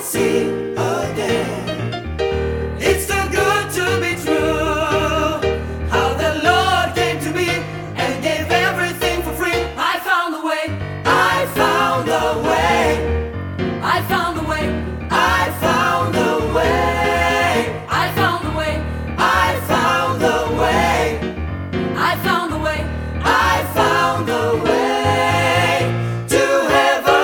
see again. It's too good to be true. How the Lord came to me and gave everything for free. I found the way. I found the way. I found the way. I found the way. I found the way. I found the way. I found the way. I found the way to heaven.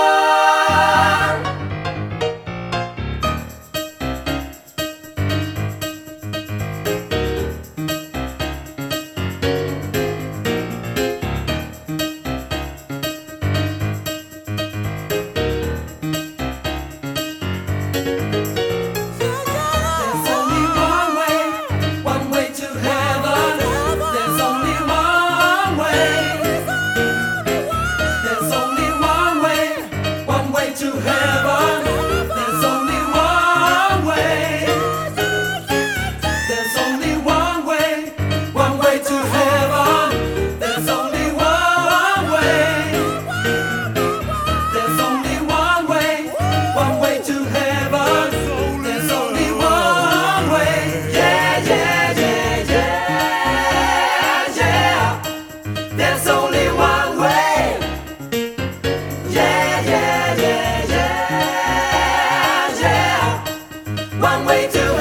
There's only one way to heaven. There's only one way. There's only one way to heaven. There's only one way. There's only one way to heaven. There's only one way. There's only one way to heaven. There's only one way. Yeah, yeah, yeah, yeah, yeah. There's only one way. Yeah, yeah, yeah, yeah, yeah. One way to